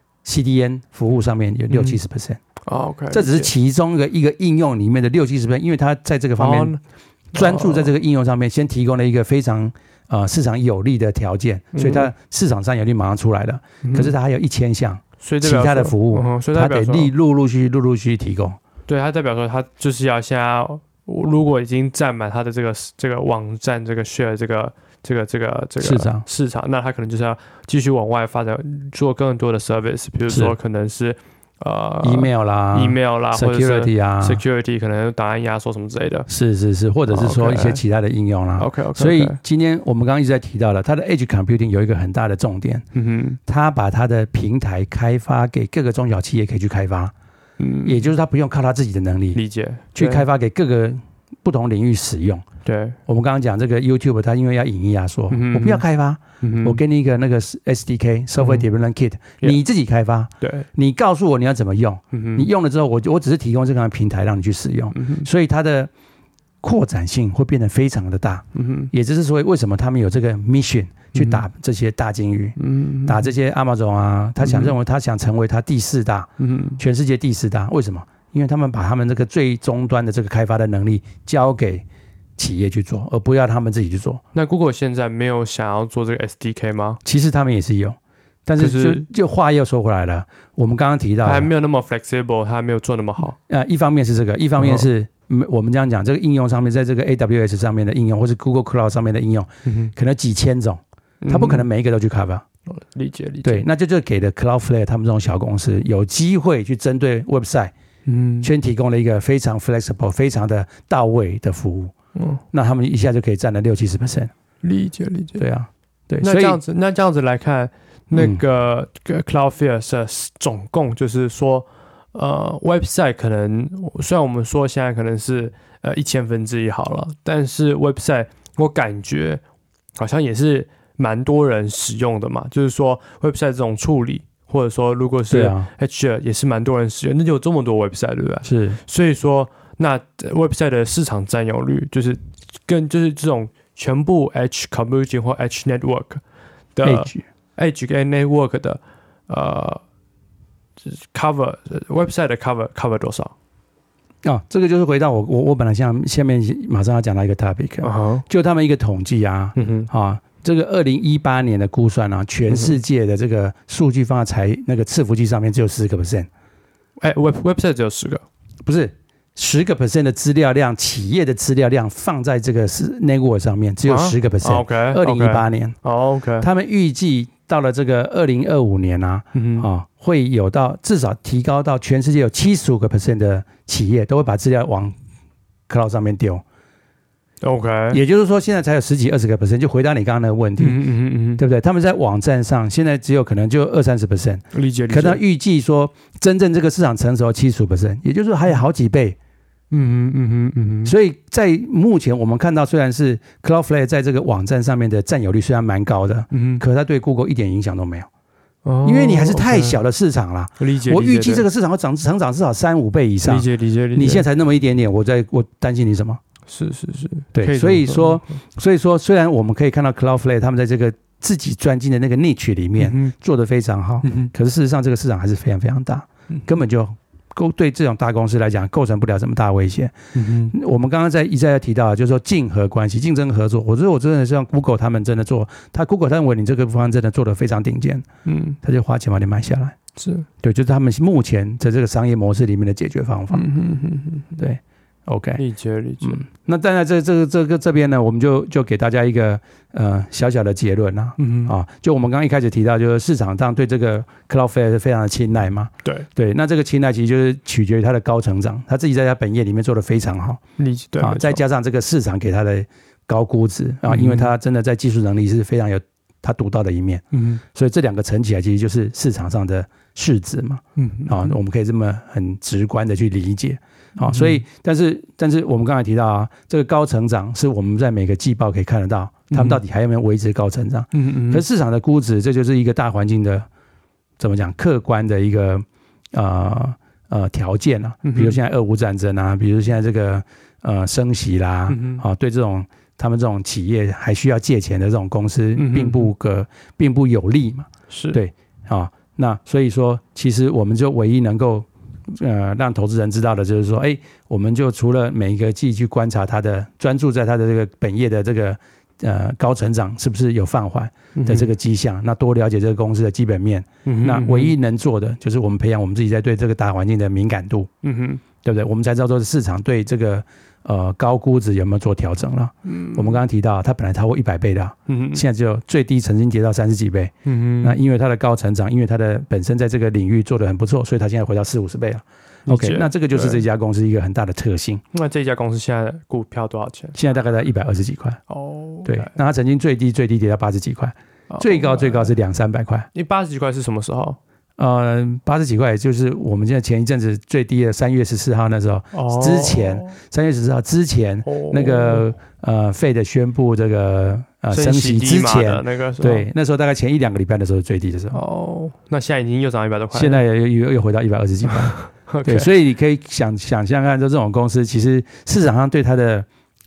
CDN 服務上面有60-70%，這只是其中一個應用裡面的60-70%，因為它在這個方面專注在這個應用上面，先提供了一個非常市場有利的條件，所以它市場占有率馬上出來了。可是它還有1000項其他的服務，它得陸陸續提供。 對，它代表說它就是要現在如果已經占滿它的這個網站這個 share 這個市場，那他可能就是要繼續往外發展，做更多的 service， 比如說可能是 email 啦 security 啊 security 可能檔案壓縮什麼之類的， 是，或者是說一些其他的應用啦。OK， 所以今天我們剛剛一直在提到了它的 Edge Computing 有一個很大的重點，它把它的平台開發給各個中小企業可以去開發，也就是它不用靠它自己的能力理解去開發給各個不同領域使用。對，我們剛剛講這個 YouTube， 它因為要影音壓縮，我不要開發，我給你一個那個 SDK Software Development Kit，你自己開發，對，你告訴我你要怎麼用，你用了之後，我只是提供這個平台讓你去使用，所以它的擴展性會變得非常的大。也就是說，為什麼他們有這個 mission 去打這些大鯨魚，打這些 Amazon 啊，他認為他想成為他第4大，全世界第4大。為什麼？因為他們把他們這個最終端的這個開發的能力交給企業去做，而不要他們自己去做。 那 Google 現在沒有想要做這個 SDK 嗎？ 其實他們也是有。但是就話又說回來了，我們剛剛提到它還沒有那麼 flexible，它還沒有做那麼好。 一方面是這個，一方面是我們這樣講，這個應用上面，在這個 AWS 上面的應用，或是 Google Cloud 上面的應用，可能幾千種，它不可能每一個都去 cover。 理解。 對，那就給了 Cloudflare 他們這種小公司有機會去針對 website，先提供了一個非常 flexible、非常的到位的服務。那他们一下就可以占了60-70%。理解。对啊，对。 那這樣子來看。那個 Cloudflare 是總共就是說website 可能雖然我們說現在可能是1/1000好了，但是 website 我感覺好像也是蠻多人使用的嘛，就是說 website 這種處理，或者說如果是 HR 也是蠻多人使用，那就有這麼多 website 對不對？是，所以說那 website 的市場佔有率就是跟就是這種全部 Edge Computing 或 Edge Network 的Edge 跟 Network 的cover website 的 cover 多少？ 這個就是回到我本來下面馬上要講到一個 topic，就他們一個統計這個2018年的估算啊，全世界的這個數據放在那個伺服器上面只有10%。 website 只有10個， 不是10% 的資料量，企業的資料量放在這個 network 上面只有10%。2018年，他們預計到了這個2025年會有到至少提高到全世界有75% 的企業都會把資料往 cloud 上面丟。也就是說，現在才有10幾20%，就回答你剛剛那個問題，對不對？他們在網站上現在只有可能就20-30%，理解。可能預計說真正這個市場成熟75%，也就是說還有好幾倍。所以在目前我們看到，雖然是 Cloudflare 在這個網站上面的佔有率雖然蠻高的，可是它對 Google 一點影響都沒有。因為你還是太小的市場了，理解。我預計這個市場會成長至少3-5倍以上，理解。你現在才那麼一點點，我擔心你什麼？是，對。所以說，雖然我們可以看到 Cloudflare 他們在這個自己專精的那個 niche 裡面做得非常好，可是事實上這個市場還是非常非常大，根本就對這種大公司來講構成不了這麼大威脅。我們剛剛一再提到，就是說競合關係、競爭合作。我覺得我真的是讓 Google 他們真的做，Google 他認為你這個方案真的做得非常頂尖，他就花錢把你買下來。是對，就是他們目前在這個商業模式裡面的解決方法。對。OK， 理解。那當然，這邊呢，我們就給大家一個小小的結論啦。就我們剛剛一開始提到，就是市場上對這個 Cloudflare 是非常的青睞嘛。對，那這個青睞其實就是取決於它的高成長，他自己在他本業裡面做得非常好。理解。對，再加上這個市場給他的高估值因為他真的在技術能力是非常有他獨到的一面。所以這兩個乘起來，其實就是市場上的市值嘛。我們可以這麼很直觀的去理解。所以，但是我們剛才提到這個高成長是我們在每個季報可以看得到，他們到底還有沒有維持高成長？可是市场的估值，這就是一個大環境的怎麼講客觀的一個條件啊。比如現在俄烏戰爭啊，比如現在這個升息啦，對這種他們這種企業還需要借錢的這種公司，並不有利嘛。是對那所以說，其實我們就唯一能夠讓投資人知道的就是說，我們就除了每一個季去觀察它的，專注在它的這個本業的這個高成長是不是有放緩的這個跡象，那多了解這個公司的基本面，那唯一能做的就是我們培養我們自己在對這個大環境的敏感度，對不對？我們才知道說市場對這個高估值有沒有做調整了。我們剛剛提到它本來超過100倍的，現在只有最低曾經跌到30幾倍。那因為它的高成長，因為它的本身在這個領域做得很不錯，所以它現在回到40-50倍了。OK， 那這個就是這家公司一個很大的特性。 那這家公司現在股票多少錢？ 現在大概在120幾塊。對，那它曾經最低跌到80幾塊，最高是200-300塊。你80幾塊是什麼時候？80幾塊就是我們現在前一陣子最低的3月14號那時候，之前3月14號之前那個Fed 宣布這個升息之前，對，那時候大概前1-2個禮拜的時候最低的時候。 那現在已經又漲100多塊， 現在又回到120幾塊。對，所以你可以想象看，就這種公司其實市場上對它的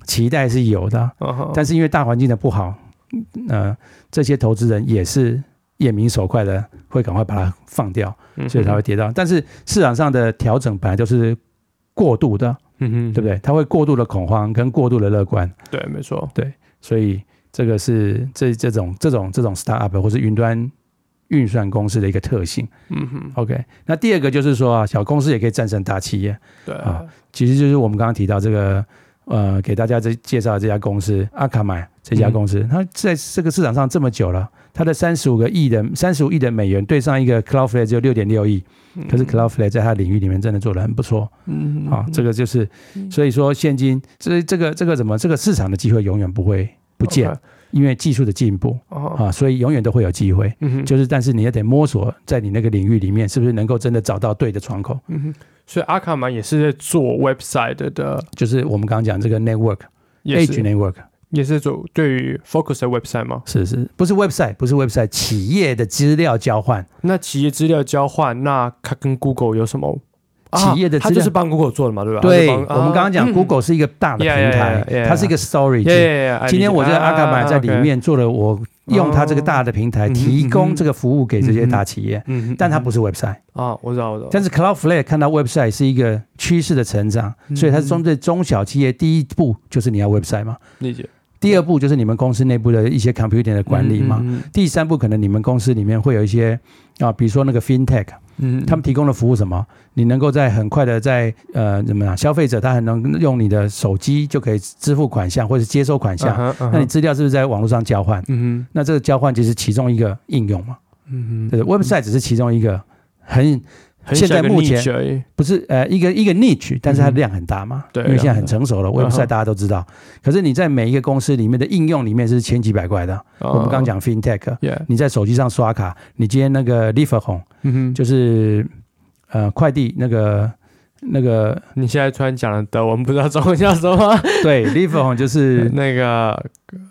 期待是有的，但是因為大環境的不好，這些投資人也是眼明手快的，會趕快把它放掉，所以才會跌到。但是市場上的調整本來就是過度的，對不對？它會過度的恐慌跟過度的樂觀， 對，沒錯， 對，所以這個是這種 startup 或是雲端運算公司的一個特性。OK， 那第二個就是說啊，小公司也可以戰勝大企業。對啊，其實就是我們剛剛提到這個給大家介紹的這家公司Akamai這家公司，它在這個市場上這麼久了，它的35億的美元對上一個 Cloudflare 只有6.6億，可是 Cloudflare 在它領域裡面真的做得很不錯。這個就是所以說現今這個市場的機會永遠不會不見。因為技術的進步所以永遠都會有機會。就是但是你也得摸索在你那個領域裡面是不是能夠真的找到對的窗口。 所以Akamai也是在做 website 的， 就是我們剛剛講這個 network Edge Network 也是做對於 Focus 的 website 嗎？ 是，不是 website， 企業的資料交換。那企業資料交換，那它跟 Google 有什麼？ 企業的資料， 它就是幫 Google 做的嘛，對吧？ 對，我們剛剛講 Google 是一個大的平台，它是一個 storage。今天我在Akamai在裡面做了，我用它這個大的平台提供這個服務給這些大企業，但它不是 website。 我知道。 但是 Cloudflare 看到 website 是一個趨勢的成長，所以它是針對中小企業，第一步就是你要 website 嘛。理解。第二步就是你們公司內部的一些 computing 的管理嘛。第三步可能你們公司裡面會有一些比如說那個 fintech。他們提供的服務什麼？你能夠在很快的在怎麼樣？消費者他很能用你的手機就可以支付款項或者接收款項，那你資料是不是在網絡上交換？那這個交換就是其中一個應用嘛。對 ，website 只是其中一個現在目前不是一個 niche， 但是它的量很大嘛。因為現在很成熟了，website 大家都知道。可是你在每一個公司裡面的應用裡面是千奇百怪的。我們剛剛講 fintech， 你在手機上刷卡，你今天那個 Lieferhome，就是快遞那個。 你現在突然講了德文，不知道中文叫什麼？ 對 ，Lieferhome 就是那個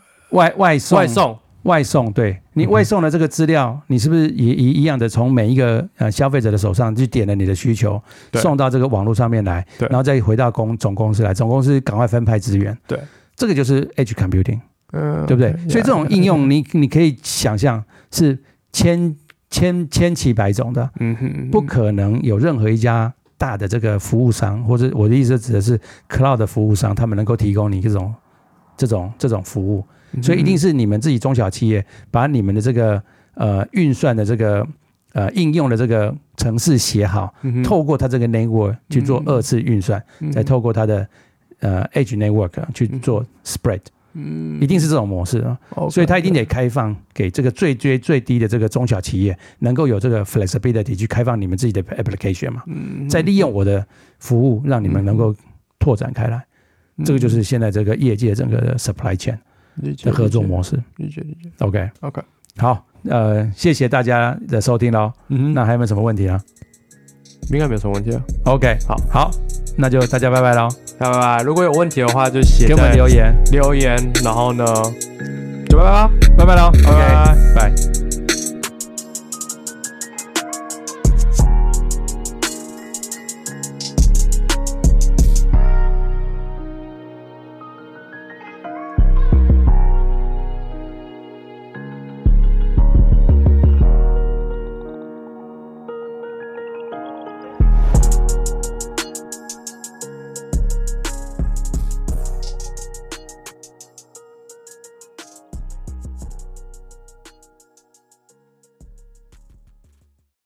外送，對，你外送的這個資料，你是不是也一樣的從每一個消費者的手上去點了你的需求，送到這個網絡上面來，然後再回到總公司來，總公司趕快分派資源。對，這個就是 Edge Computing， 對不對？所以這種應用你可以想象是千奇百種的，不可能有任何一家大的這個服務商，或者我的意思指的是 Cloud 的服務商，他們能夠提供你這種服務。所以一定是你們自己中小企業把你們的這個運算的這個應用的這個程式寫好，透過它這個 network 去做2次運算，再透過它的edge network 去做 spread，一定是這種模式啊。所以它一定得開放給這個最低的這個中小企業，能夠有這個 flexibility 去開放你們自己的 application 嘛，再利用我的服務讓你們能夠拓展開來。這個就是現在這個業界整個的 supply chain的合作模式。理解。OK， 好，謝謝大家的收聽嘍。那還有沒有什麼問題啊？ 應該沒有什麼問題了。OK， 好， 那就大家拜拜嘍。 拜拜。如果有問題的話，就寫給我們留言， 然後呢，就拜拜嘍。 拜拜嘍。OK，拜。